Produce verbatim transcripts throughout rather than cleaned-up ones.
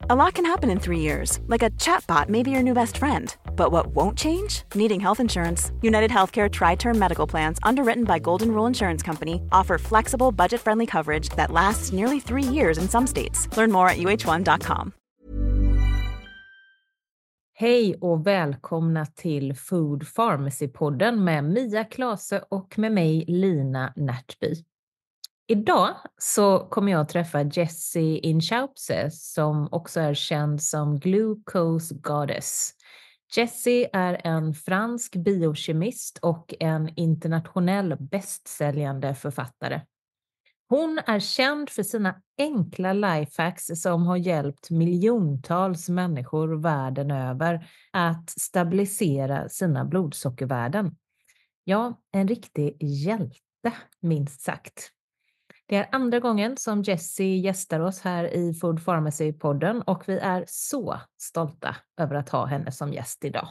A lot can happen in three years, like a chatbot may be your new best friend. But what won't change? Needing health insurance. United Healthcare Tri-Term Medical Plans, underwritten by Golden Rule Insurance Company, offer flexible, budget-friendly coverage that lasts nearly three years in some states. Learn more at u h one dot com. Hej och välkomna till Food Pharmacy-podden med Mia Klase och med mig Lina Närtby. Idag så kommer jag att träffa Jessie Inchauspé som också är känd som Glucose Goddess. Jessie är en fransk biokemist och en internationell bästsäljande författare. Hon är känd för sina enkla lifehacks som har hjälpt miljontals människor världen över att stabilisera sina blodsockervärden. Ja, en riktig hjälte minst sagt. Det är andra gången som Jessie gästar oss här i Food Pharmacy-podden och vi är så stolta över att ha henne som gäst idag.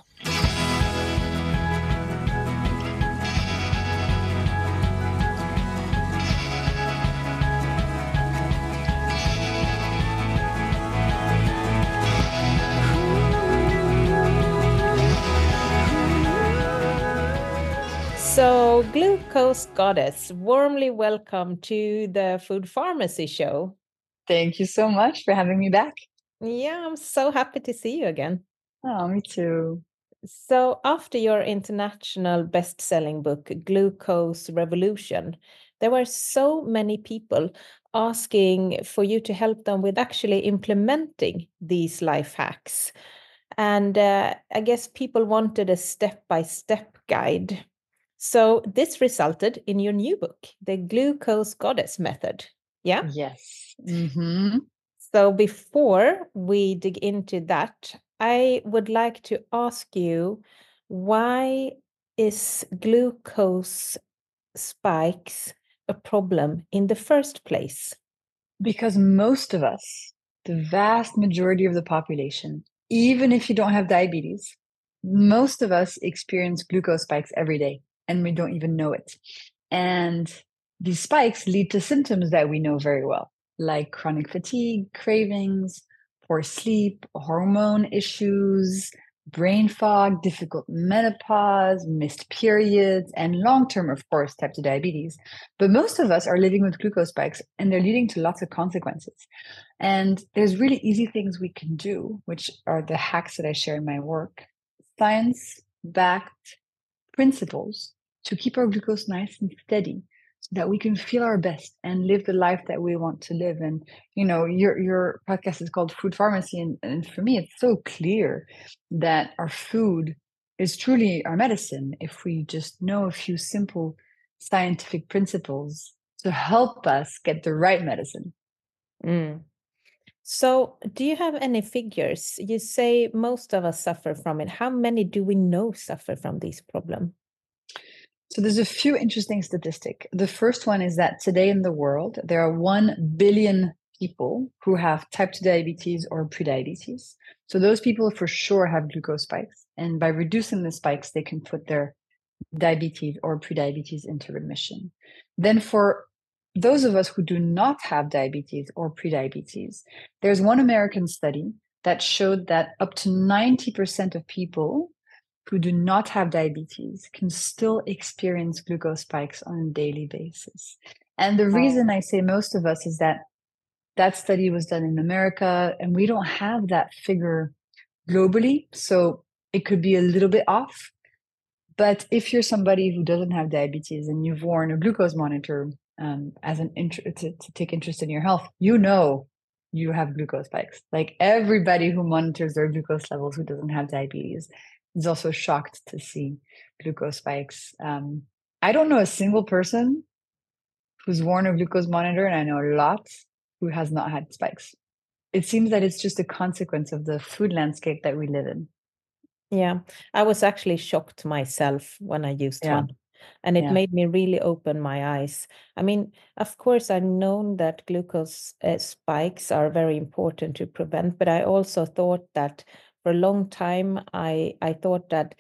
So, Glucose Goddess, warmly welcome to the Food Pharmacy Show. Thank you so much for having me back. Yeah, I'm so happy to see you again. Oh, me too. So, after your international best-selling book, Glucose Revolution, there were so many people asking for you to help them with actually implementing these life hacks. And uh, I guess people wanted a step-by-step guide. So this resulted in your new book, The Glucose Goddess Method. Yeah? Yes. Mm-hmm. So before we dig into that, I would like to ask you, why is glucose spikes a problem in the first place? Because most of us, the vast majority of the population, even if you don't have diabetes, most of us experience glucose spikes every day. And we don't even know it. And these spikes lead to symptoms that we know very well, like chronic fatigue, cravings, poor sleep, hormone issues, brain fog, difficult menopause, missed periods, and long-term, of course, type two diabetes. But most of us are living with glucose spikes, and they're leading to lots of consequences. And there's really easy things we can do, which are the hacks that I share in my work. Science-backed principles to keep our glucose nice and steady so that we can feel our best and live the life that we want to live. And, you know, your your podcast is called Food Pharmacy. And, and for me, it's so clear that our food is truly our medicine if we just know a few simple scientific principles to help us get the right medicine. Mm. So do you have any figures? You say most of us suffer from it. How many do we know suffer from this problem? So there's a few interesting statistics. The first one is that today in the world, there are one billion people who have type two diabetes or prediabetes. So those people for sure have glucose spikes. And by reducing the spikes, they can put their diabetes or prediabetes into remission. Then for those of us who do not have diabetes or prediabetes, there's one American study that showed that up to ninety percent of people who do not have diabetes can still experience glucose spikes on a daily basis. And the reason I say most of us is that that study was done in America and we don't have that figure globally. So it could be a little bit off. But if you're somebody who doesn't have diabetes and you've worn a glucose monitor um, as an int- to, to take interest in your health, you know you have glucose spikes. Like everybody who monitors their glucose levels who doesn't have diabetes is also shocked to see glucose spikes. Um, I don't know a single person who's worn a glucose monitor, and I know a lot who has not had spikes. It seems that it's just a consequence of the food landscape that we live in. Yeah, I was actually shocked myself when I used Yeah. one. And it Yeah. made me really open my eyes. I mean, of course, I've known that glucose uh, spikes are very important to prevent, but I also thought that for a long time, I, I thought that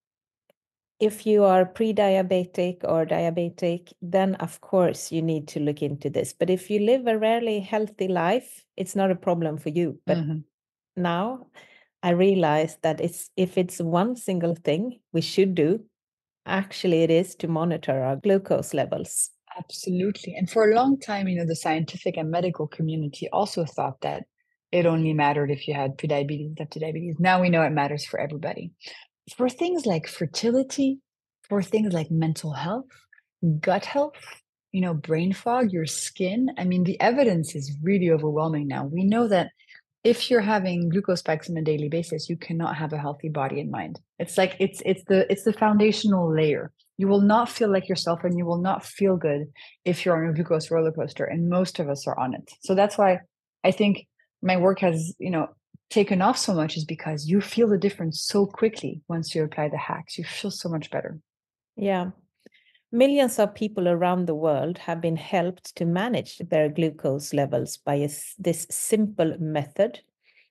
if you are pre-diabetic or diabetic, then of course you need to look into this. But if you live a rarely healthy life, it's not a problem for you. But Mhm. now I realize that it's if it's one single thing we should do, actually it is to monitor our glucose levels. Absolutely. And for a long time, you know, the scientific and medical community also thought that it only mattered if you had prediabetes and type two diabetes. Now we know it matters for everybody. For things like fertility, for things like mental health, gut health, you know, brain fog, your skin. I mean, the evidence is really overwhelming now. We know that if you're having glucose spikes on a daily basis, you cannot have a healthy body and mind. It's like it's it's the it's the foundational layer. You will not feel like yourself and you will not feel good if you're on a glucose roller coaster. And most of us are on it. So that's why I think my work has, you know, taken off so much, is because you feel the difference so quickly once you apply the hacks. You feel so much better. Yeah. Millions of people around the world have been helped to manage their glucose levels by a, this simple method.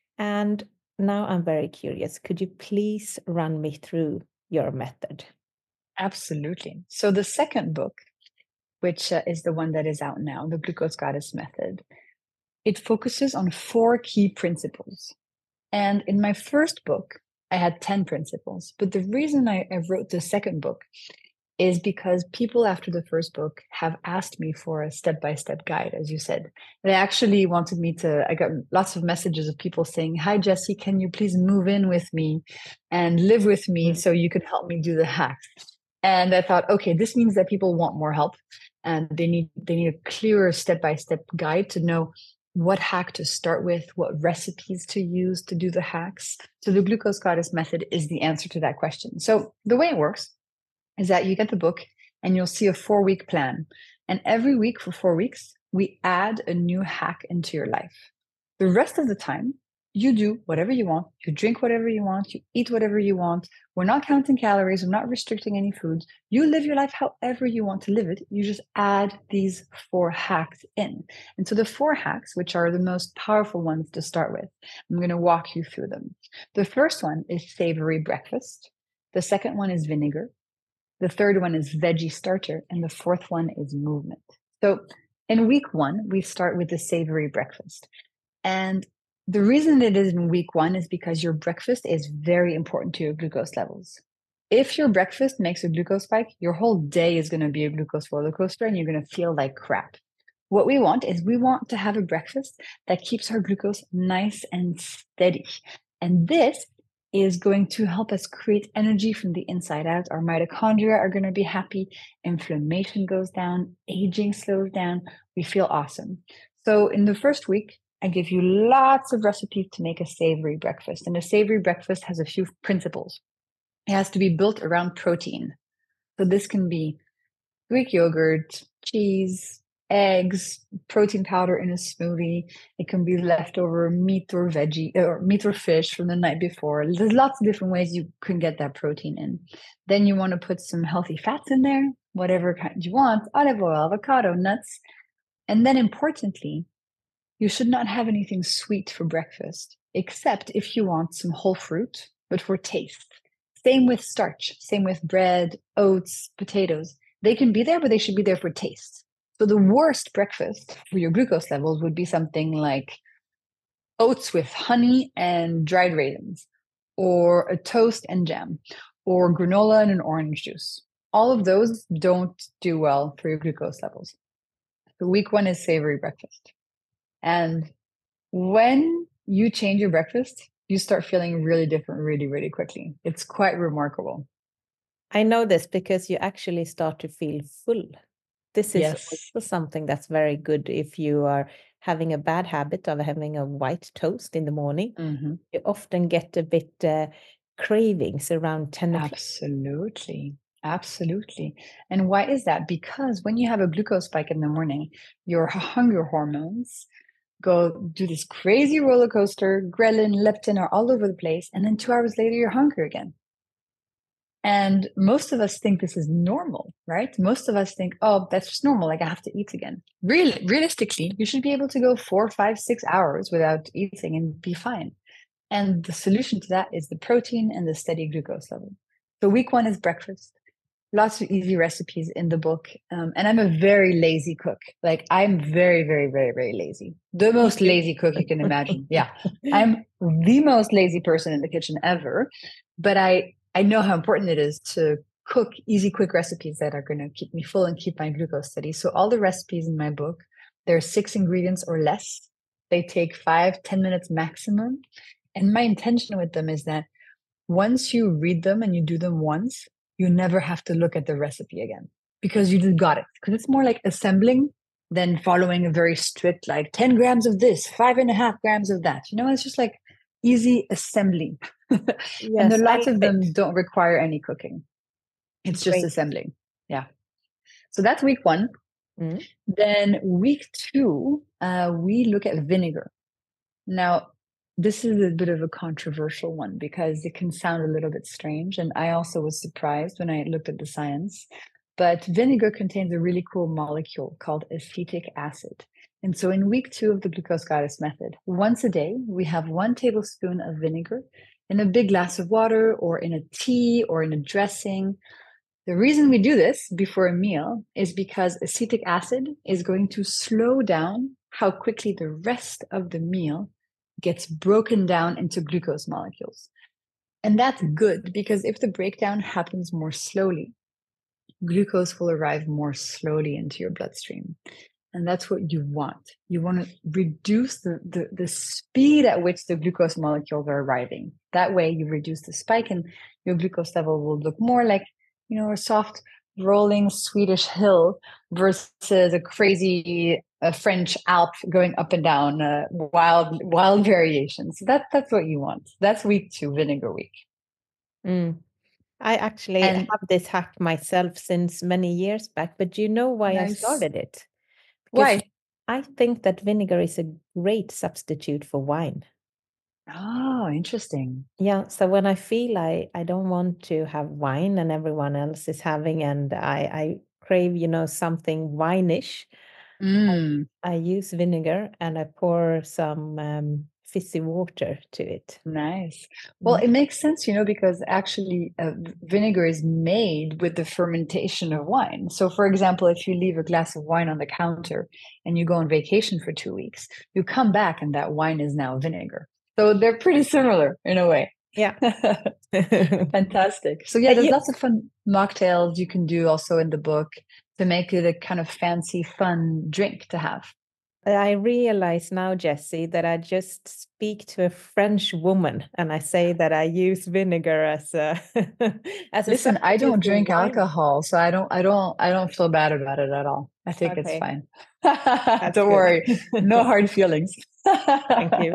And now I'm very curious. Could you please run me through your method? Absolutely. So the second book, which uh, is the one that is out now, the Glucose Goddess Method, it focuses on four key principles. And in my first book, I had ten principles. But the reason I, I wrote the second book is because people after the first book have asked me for a step-by-step guide, as you said. They actually wanted me to, I got lots of messages of people saying, hi, Jessie, can you please move in with me and live with me so you can help me do the hacks? And I thought, okay, this means that people want more help and they need they need a clearer step-by-step guide to know what hack to start with, what recipes to use to do the hacks. So the Glucose Goddess Method is the answer to that question. So the way it works is that you get the book and you'll see a four-week plan. And every week for four weeks, we add a new hack into your life. The rest of the time, you do whatever you want. You drink whatever you want. You eat whatever you want. We're not counting calories. We're not restricting any foods. You live your life however you want to live it. You just add these four hacks in. And so the four hacks, which are the most powerful ones to start with, I'm going to walk you through them. The first one is savory breakfast. The second one is vinegar. The third one is veggie starter. And the fourth one is movement. So in week one, we start with the savory breakfast. And the reason it is in week one is because your breakfast is very important to your glucose levels. If your breakfast makes a glucose spike, your whole day is going to be a glucose roller coaster and you're going to feel like crap. What we want is we want to have a breakfast that keeps our glucose nice and steady. And this is going to help us create energy from the inside out. Our mitochondria are going to be happy. Inflammation goes down. Aging slows down. We feel awesome. So in the first week, I give you lots of recipes to make a savory breakfast. And a savory breakfast has a few principles. It has to be built around protein. So this can be Greek yogurt, cheese, eggs, protein powder in a smoothie. It can be leftover meat or veggie or meat or fish from the night before. There's lots of different ways you can get that protein in. Then you want to put some healthy fats in there, whatever kind you want, olive oil, avocado, nuts. And then importantly, you should not have anything sweet for breakfast, except if you want some whole fruit, but for taste. Same with starch, same with bread, oats, potatoes. They can be there, but they should be there for taste. So the worst breakfast for your glucose levels would be something like oats with honey and dried raisins, or a toast and jam, or granola and an orange juice. All of those don't do well for your glucose levels. So week one is savory breakfast. And when you change your breakfast, you start feeling really different really, really quickly. It's quite remarkable. I know this because you actually start to feel full. This is Yes. also something that's very good if you are having a bad habit of having a white toast in the morning. Mm-hmm. You often get a bit uh, cravings around ten o'clock. Absolutely. Absolutely. And why is that? Because when you have a glucose spike in the morning, your hunger hormones go do this crazy roller coaster. Ghrelin, leptin are all over the place. And then two hours later, you're hungry again. And most of us think this is normal, right? Most of us think, oh, that's just normal. Like I have to eat again. Really, realistically, you should be able to go four, five, six hours without eating and be fine. And the solution to that is the protein and the steady glucose level. So week one is breakfast. lots of easy recipes in the book. Um, and I'm a very lazy cook. Like I'm very, very, very, very lazy. The most lazy cook you can imagine. Yeah. I'm the most lazy person in the kitchen ever. But I, I know how important it is to cook easy, quick recipes that are going to keep me full and keep my glucose steady. So all the recipes in my book, there are six ingredients or less. They take five, ten minutes maximum. And my intention with them is that once you read them and you do them once, you never have to look at the recipe again because you just got it. Because it's more like assembling than following a very strict, like ten grams of this, five and a half grams of that. You know, it's just like easy assembly. Yes, and there, lots I of love them it. don't require any cooking. It's just Great. assembling. Yeah. So that's week one. Mm. Then week two, uh, we look at vinegar. Now, this is a bit of a controversial one because it can sound a little bit strange. And I also was surprised when I looked at the science. But vinegar contains a really cool molecule called acetic acid. And so in week two of the Glucose Goddess method, once a day, we have one tablespoon of vinegar in a big glass of water or in a tea or in a dressing. The reason we do this before a meal is because acetic acid is going to slow down how quickly the rest of the meal gets broken down into glucose molecules. And that's good because if the breakdown happens more slowly, glucose will arrive more slowly into your bloodstream. And that's what you want. You want to reduce the, the, the speed at which the glucose molecules are arriving. That way you reduce the spike and your glucose level will look more like, you know, a soft rolling Swedish hill versus a crazy uh, French Alp going up and down, uh, wild, wild variations. So that, that's what you want. That's week two, vinegar week. Mm. I actually And have this hack myself since many years back, but do you know why I nice. started it? Because Why? I think that vinegar is a great substitute for wine. Oh, interesting. Yeah, so when I feel I, I don't want to have wine and everyone else is having, and I, I crave, you know, something wine-ish, Mm. I use vinegar and I pour some um, fizzy water to it. Nice. Well, Mm. it makes sense, you know, because actually uh, vinegar is made with the fermentation of wine. So, for example, if you leave a glass of wine on the counter and you go on vacation for two weeks, you come back and that wine is now vinegar. So they're pretty similar in a way. Yeah. Fantastic. So yeah, Uh, there's you- lots of fun mocktails you can do also in the book to make it a kind of fancy, fun drink to have. I realize now, Jessie, that I just speak to a French woman and I say that I use vinegar as a as a Listen, I substitute don't for drink wine. alcohol, so I don't I don't I don't feel bad about it at all. I think it's Okay. fine. That's Don't good. worry. No hard feelings. Thank you.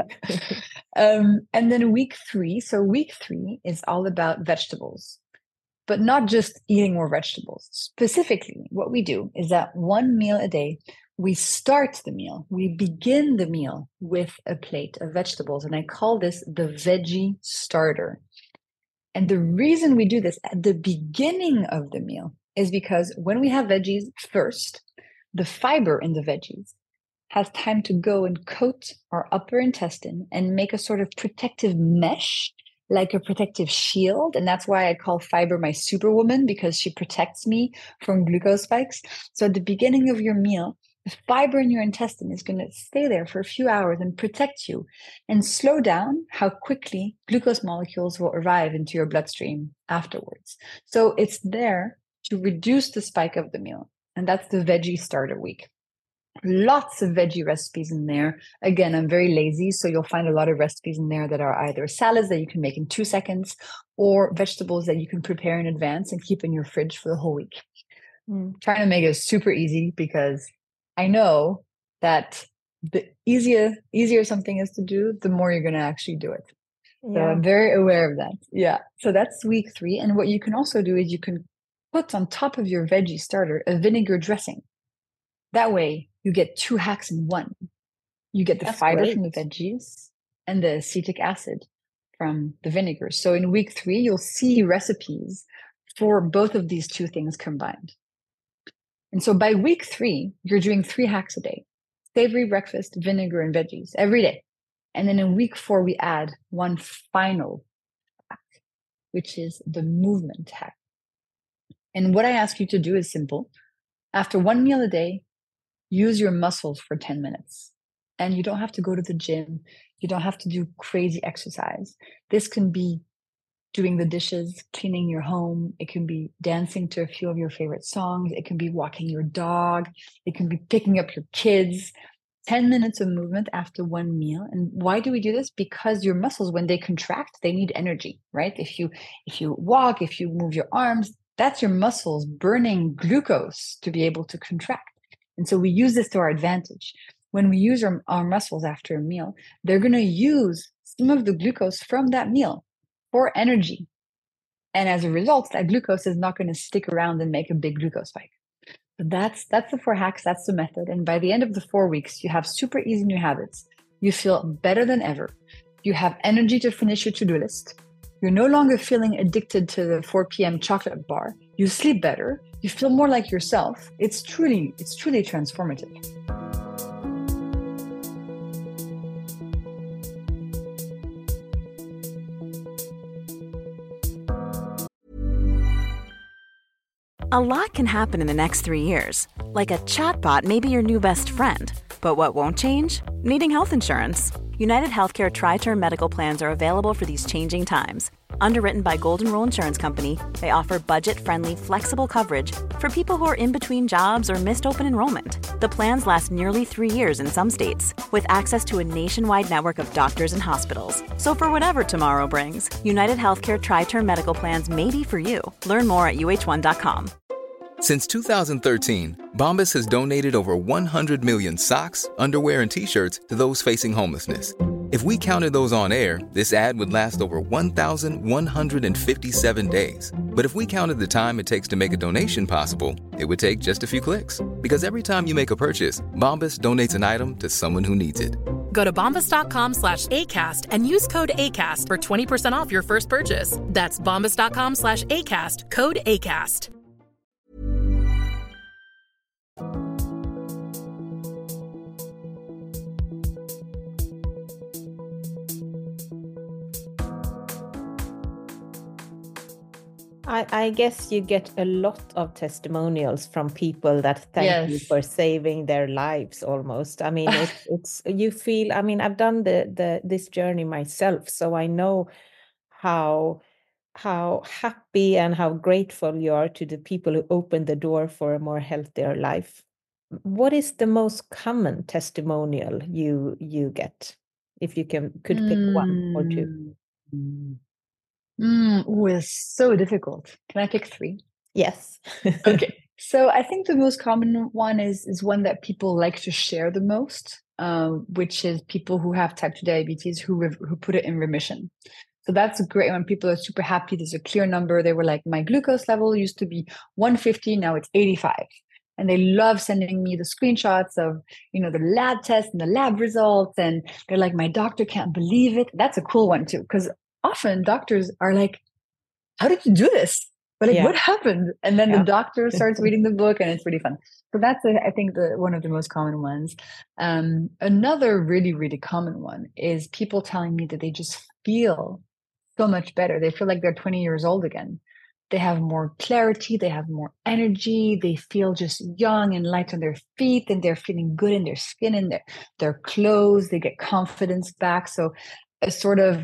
um, and then week three. So week three is all about vegetables, but not just eating more vegetables. Specifically, what we do is that one meal a day, we start the meal, we begin the meal with a plate of vegetables. And I call this the veggie starter. And the reason we do this at the beginning of the meal is because when we have veggies first, the fiber in the veggies has time to go and coat our upper intestine and make a sort of protective mesh, like a protective shield. And that's why I call fiber my superwoman, because she protects me from glucose spikes. So at the beginning of your meal, the fiber in your intestine is going to stay there for a few hours and protect you and slow down how quickly glucose molecules will arrive into your bloodstream afterwards. So it's there to reduce the spike of the meal. And that's the veggie starter week. Lots of veggie recipes in there. Again, I'm very lazy, so you'll find a lot of recipes in there that are either salads that you can make in two seconds or vegetables that you can prepare in advance and keep in your fridge for the whole week. Mm. Trying to make it super easy because I know that the easier easier something is to do, the more you're going to actually do it. So Yeah. I'm very aware of that. Yeah. So that's week three. And what you can also do is you can put on top of your veggie starter a vinegar dressing. That way you get two hacks in one. You get the That's fiber great. from the veggies and the acetic acid from the vinegar. So in week three, you'll see recipes for both of these two things combined. And so by week three, you're doing three hacks a day: savory breakfast, vinegar, and veggies every day. And then in week four, we add one final hack, which is the movement hack. And what I ask you to do is simple. After one meal a day, use your muscles for ten minutes. And you don't have to go to the gym. You don't have to do crazy exercise. This can be doing the dishes, cleaning your home. It can be dancing to a few of your favorite songs. It can be walking your dog. It can be picking up your kids. ten minutes of movement after one meal. And why do we do this? Because your muscles, when they contract, they need energy, right? If you if you walk, if you move your arms, that's your muscles burning glucose to be able to contract. And so we use this to our advantage. When we use our, our muscles after a meal, they're going to use some of the glucose from that meal for energy. And as a result, that glucose is not going to stick around and make a big glucose spike. So that's that's the four hacks. That's the method. And by the end of the four weeks, you have super easy new habits. You feel better than ever. You have energy to finish your to-do list. You're no longer feeling addicted to the four p.m. chocolate bar. You sleep better. You feel more like yourself. It's truly, it's truly transformative. A lot can happen in the next three years. Like a chatbot may be your new best friend. But what won't change? Needing health insurance. United Healthcare Tri-Term Medical Plans are available for these changing times. Underwritten by Golden Rule Insurance Company, they offer budget-friendly, flexible coverage for people who are in between jobs or missed open enrollment. The plans last nearly three years in some states, with access to a nationwide network of doctors and hospitals. So for whatever tomorrow brings, United Healthcare Tri-Term Medical Plans may be for you. Learn more at U H one dot com. Since two thousand thirteen, Bombas has donated over one hundred million socks, underwear, and T-shirts to those facing homelessness. If we counted those on air, this ad would last over one thousand one hundred fifty-seven days. But if we counted the time it takes to make a donation possible, it would take just a few clicks. Because every time you make a purchase, Bombas donates an item to someone who needs it. Go to bombas.com slash ACAST and use code ACAST for twenty percent off your first purchase. That's bombas.com slash ACAST, code ACAST. I, I guess you get a lot of testimonials from people that thank Yes. you for saving their lives almost. I mean, it's, it's you feel, I mean, I've done the, the this journey myself, so I know how how happy and how grateful you are to the people who opened the door for a more healthier life. What is the most common testimonial you you get? If you can could pick one or two. Mm. Mm, ooh, it's so difficult. Can I pick three? Yes. Okay. So I think the most common one is is one that people like to share the most, um, which is people who have type two diabetes who re- who put it in remission. So that's great when people are super happy. There's a clear number. They were like, my glucose level used to be one fifty, now it's eighty-five. And they love sending me the screenshots of, you know, the lab tests and the lab results. And they're like, my doctor can't believe it. That's a cool one too, because often doctors are like, how did you do this? But like, Yeah. what happened? And then Yeah. the doctor starts reading the book and it's really fun. So that's, a, I think, the one of the most common ones. Um, another really, really common one is people telling me that they just feel so much better. They feel like they're twenty years old again. They have more clarity. They have more energy. They feel just young and light on their feet, and they're feeling good in their skin and their, their clothes. They get confidence back. So a sort of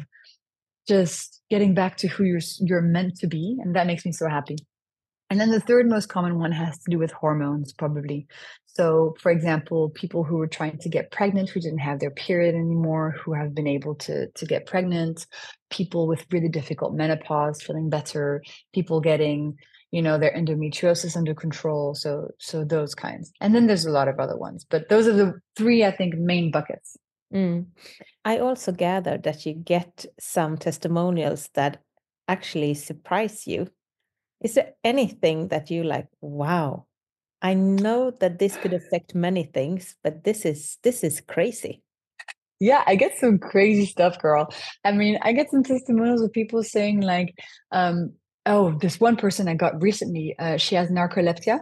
just getting back to who you're you're meant to be, and that makes me so happy. And then the third most common one has to do with hormones, probably. So, for example, people who were trying to get pregnant, who didn't have their period anymore, who have been able to to get pregnant, people with really difficult menopause feeling better, people getting, you know, their endometriosis under control. So, so those kinds. And then there's a lot of other ones, but those are the three, I think, main buckets. Mm. I also gathered that you get some testimonials that actually surprise you. Is there anything that you like, wow, I know that this could affect many things, but this is this is crazy. Yeah, I get some crazy stuff, girl. I mean, I get some testimonials of people saying like, um, oh, this one person I got recently, uh, she has narcolepsia.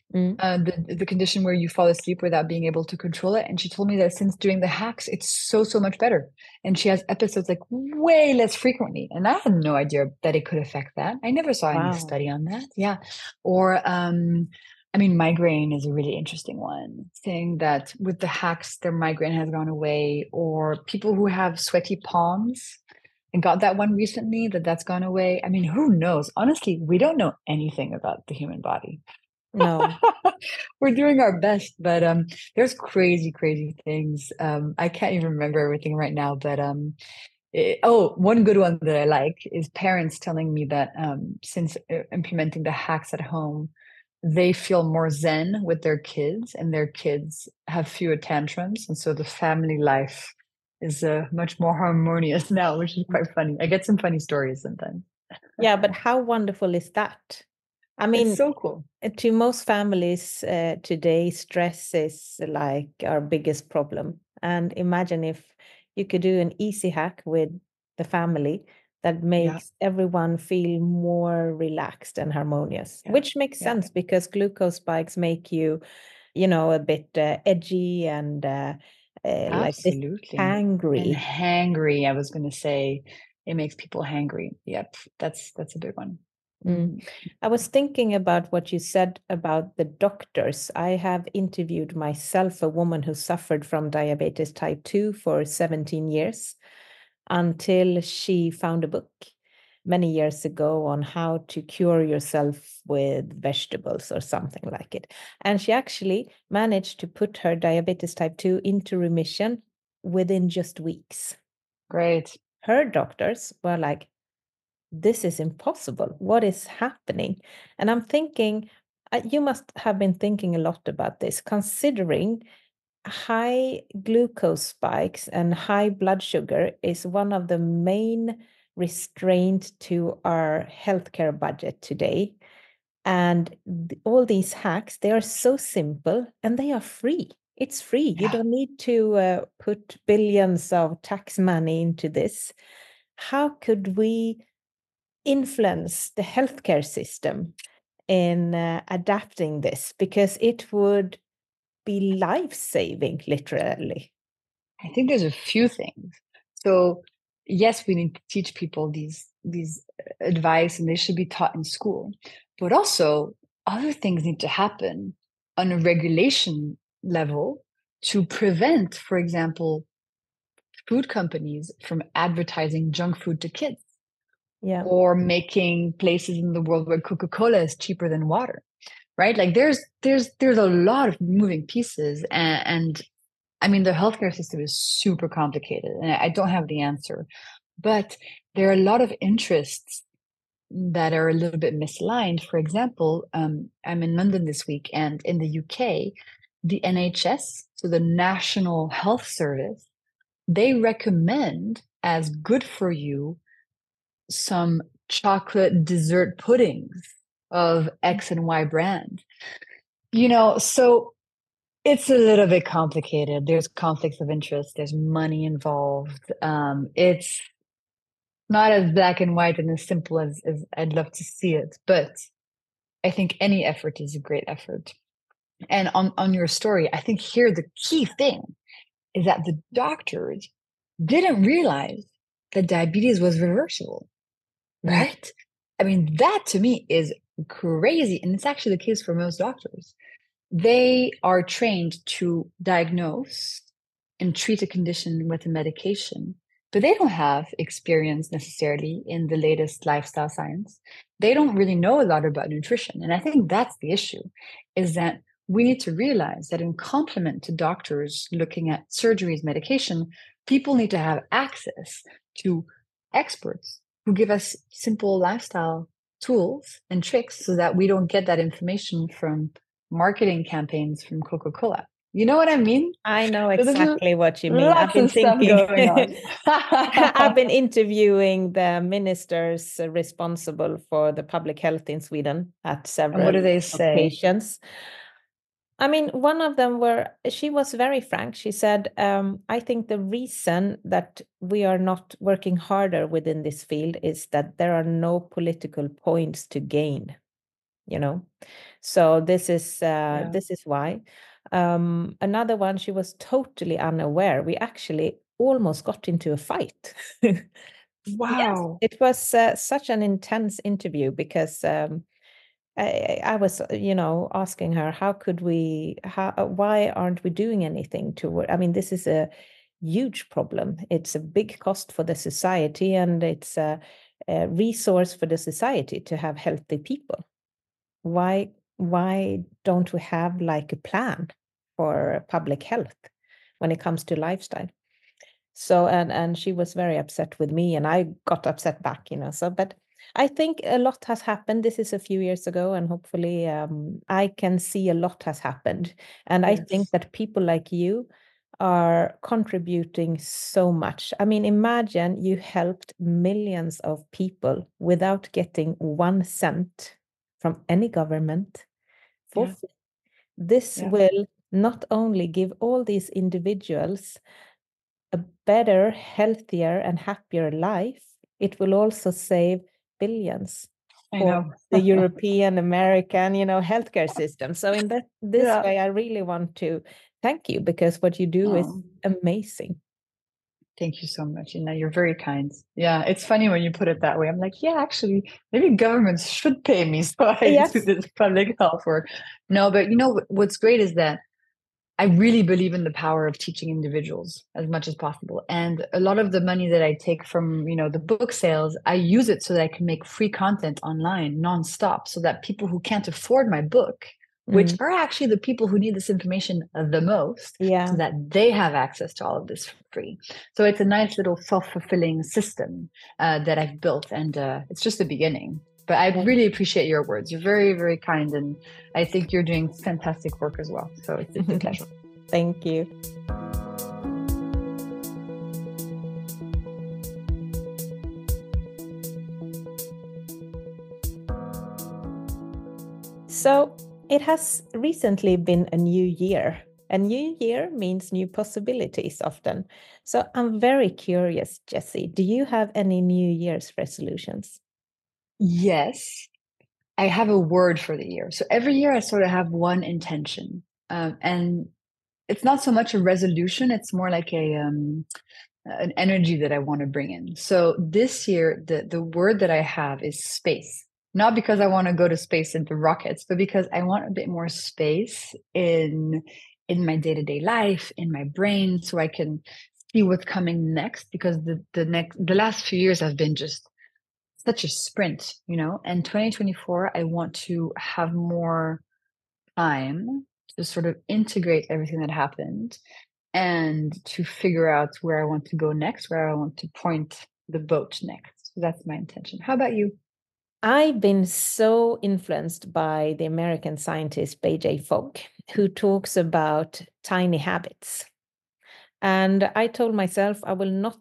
Mm. uh, the, the condition where you fall asleep without being able to control it. And she told me that since doing the hacks, it's so, so much better. And she has episodes like way less frequently. And I had no idea that it could affect that. I never saw Wow. any study on that. Yeah. Or, um, I mean, migraine is a really interesting one, saying that with the hacks, their migraine has gone away, or people who have sweaty palms and got that one recently, that that's gone away. I mean, who knows? Honestly, we don't know anything about the human body. No. We're doing our best, but um, there's crazy, crazy things. Um, I can't even remember everything right now, but um, it, oh, one good one that I like is parents telling me that um, since uh, implementing the hacks at home, they feel more zen with their kids, and their kids have fewer tantrums, and so the family life is uh, much more harmonious now, which is quite funny. I get some funny stories sometimes. Yeah, but how wonderful is that? I mean, It's so cool. To most families uh, today, stress is like our biggest problem. And imagine if you could do an easy hack with the family that makes yeah. everyone feel more relaxed and harmonious, yeah. which makes yeah. sense because glucose spikes make you, you know, a bit uh, edgy and uh, uh, like hangry. And hangry, I was going to say, it makes people hangry. Yep, that's that's a big one. Mm. I was thinking about what you said about the doctors. I have interviewed myself, a woman who suffered from diabetes type two for seventeen years, until she found a book many years ago on how to cure yourself with vegetables or something like it. And she actually managed to put her diabetes type two into remission within just weeks. Great. Her doctors were like, this is impossible. What is happening? And I'm thinking, uh, you must have been thinking a lot about this, considering high glucose spikes and high blood sugar is one of the main restraints to our healthcare budget today. And th- all these hacks, they are so simple and they are free. It's free. Yeah. You don't need to uh, put billions of tax money into this. How could we influence the healthcare system in uh, adapting this, because it would be life-saving, literally? I think there's a few things. So yes, we need to teach people these these advice, and they should be taught in school, but also other things need to happen on a regulation level to prevent, for example, food companies from advertising junk food to kids. Yeah. Or making places in the world where Coca-Cola is cheaper than water, right? Like there's there's there's a lot of moving pieces, and, and I mean the healthcare system is super complicated, and I don't have the answer, but there are a lot of interests that are a little bit misaligned. For example, um, I'm in London this week, and in the U K, the N H S, so the National Health Service, they recommend as good for you some chocolate dessert puddings of X and Y brand. You know, so it's a little bit complicated. There's conflicts of interest. There's money involved. Um, it's not as black and white and as simple as, as I'd love to see it. But I think any effort is a great effort. And on, on your story, I think here the key thing is that the doctors didn't realize that diabetes was reversible. Right? I mean, that to me is crazy. And it's actually the case for most doctors. They are trained to diagnose and treat a condition with a medication, but they don't have experience necessarily in the latest lifestyle science. They don't really know a lot about nutrition. And I think that's the issue, is that we need to realize that in complement to doctors looking at surgeries, medication, people need to have access to experts who give us simple lifestyle tools and tricks so that we don't get that information from marketing campaigns from Coca-Cola. You know what I mean? I know exactly what you mean. I've been thinking. Going on. I've been interviewing the ministers responsible for the public health in Sweden at several and what do they say? occasions. I mean, one of them were, she was very frank. She said, um, I think the reason that we are not working harder within this field is that there are no political points to gain. you know. So this is uh, Yeah. this is why. Um, another one, she was totally unaware. We actually almost got into a fight. Wow. Yes, it was uh, such an intense interview because um, I, I was, you know, asking her, how could we, how, why aren't we doing anything to, I mean, this is a huge problem. It's a big cost for the society, and it's a, a resource for the society to have healthy people. Why, why don't we have like a plan for public health when it comes to lifestyle? So, and and she was very upset with me, and I got upset back, you know. So, but I think a lot has happened. This is a few years ago, and hopefully um, I can see a lot has happened. And I think Yes. that people like you are contributing so much. I mean, imagine you helped millions of people without getting one cent from any government for Yeah. free. This Yeah. will not only give all these individuals a better, healthier, and happier life, it will also save billions I for know. the European, American, you know, healthcare system. So in that this Yeah. way, I really want to thank you, because what you do is Oh, amazing. thank you so much. And you're very kind. Yeah, it's funny when you put it that way. I'm like, yeah, actually, maybe governments should pay me so I Yes. do this public health work. No, but you know what- what's great is that I really believe in the power of teaching individuals as much as possible. And a lot of the money that I take from, you know, the book sales, I use it so that I can make free content online nonstop, so that people who can't afford my book, which Mm. are actually the people who need this information the most, Yeah. so that they have access to all of this for free. So it's a nice little self-fulfilling system uh, that I've built, and uh, it's just the beginning. But I really appreciate your words. You're very, very kind, and I think you're doing fantastic work as well. So it's, it's a pleasure. Thank you. So it has recently been a new year. A new year means new possibilities often. So I'm very curious, Jessie, do you have any New Year's resolutions? Yes, I have a word for the year. So every year I sort of have one intention. Um, and it's not so much a resolution, it's more like a um, an energy that I want to bring in. So this year, the, the word that I have is space. Not because I want to go to space into rockets, but because I want a bit more space in in my day-to-day life, in my brain, so I can see what's coming next. Because the the next the last few years have been just such a sprint, you know. And twenty twenty-four, I want to have more time to sort of integrate everything that happened and to figure out where I want to go next, where I want to point the boat next. So that's my intention. How about you? I've been so influenced by the American scientist B J Fogg, who talks about tiny habits. And I told myself I will not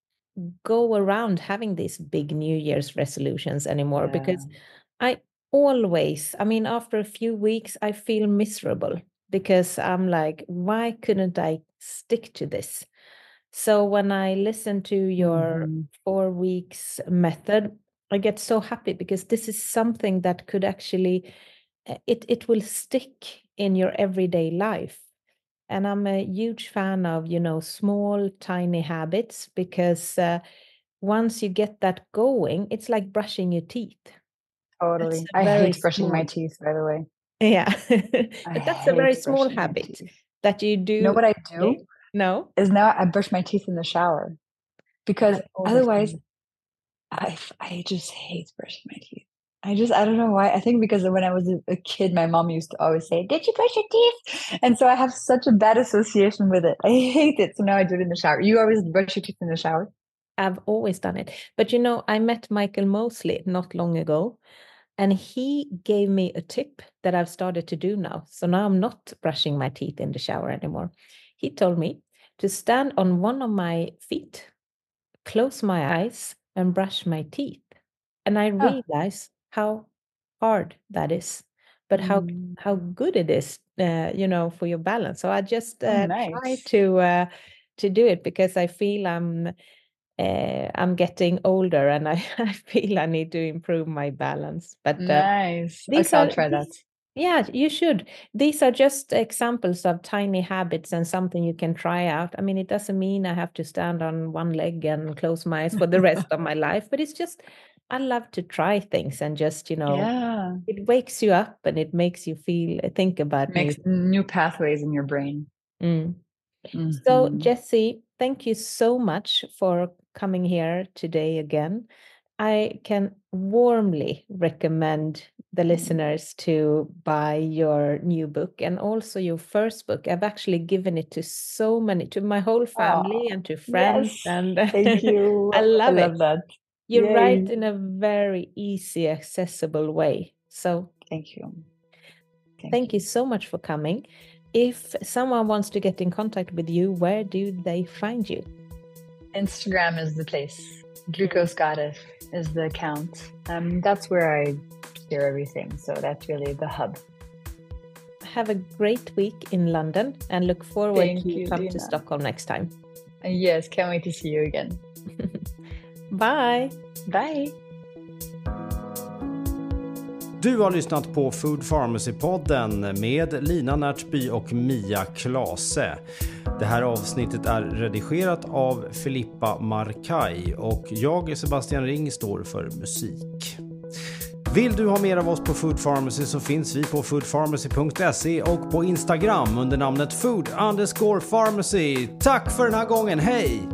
go around having these big New Year's resolutions anymore, Yeah. because I always, I mean, after a few weeks, I feel miserable, because I'm like, why couldn't I stick to this? So when I listen to your Mhm. four weeks method, I get so happy, because this is something that could actually, uh, it, it will stick in your everyday life. And I'm a huge fan of, you know, small, tiny habits, because uh, once you get that going, it's like brushing your teeth. Totally. That's a I very hate brushing my small, teeth, by the way. yeah. I But that's a very hate small brushing my habit teeth. that you You do know what I every day. do No, is now I brush my teeth in the shower, because I all the otherwise time. I I just hate brushing my teeth. I just I don't know why. I think because when I was a, a kid, my mom used to always say, "Did you brush your teeth?" And so I have such a bad association with it. I hate it. So now I do it in the shower. You always brush your teeth in the shower? I've always done it. But you know, I met Michael Mosley not long ago, and he gave me a tip that I've started to do now. So now I'm not brushing my teeth in the shower anymore. He told me to stand on one of my feet, close my eyes, and brush my teeth. And I Huh. realized how hard that is, but how Mm. how good it is, uh, you know, for your balance. So I just Oh, uh, try nice. to uh, to do it, because I feel I'm uh, I'm getting older and I, I feel I need to improve my balance. But uh, nice. these okay, are, I'll try that. These, yeah, you should. These are just examples of tiny habits and something you can try out. I mean, it doesn't mean I have to stand on one leg and close my eyes for the rest of my life, but it's just, I love to try things and just, you know, yeah. it wakes you up and it makes you feel, think about it makes new, new pathways in your brain. Mm. Mm-hmm. So, Jessie, thank you so much for coming here today again. I can warmly recommend the listeners to buy your new book and also your first book. I've actually given it to so many, to my whole family oh, and to friends. Yes. And thank you. I love I it. love that. You Yay. write in a very easy, accessible way. So thank you. Thank, thank you. you so much for coming. If someone wants to get in contact with you, where do they find you? Instagram is the place. Glucose Goddess is the account. Um, that's where I share everything. So that's really the hub. Have a great week in London and look forward Thank to you, come Lina. to Stockholm next time. Yes, can't wait to see you again. Bye. Bye. Du har lyssnat på Food Pharmacy-podden med Lina Närtby och Mia Klase. Det här avsnittet är redigerat av Filippa Markaj och jag, Sebastian Ring, står för musik. Vill du ha mer av oss på Food Pharmacy så finns vi på food pharmacy punkt se och på Instagram under namnet food underscore pharmacy. Tack för den här gången, hej!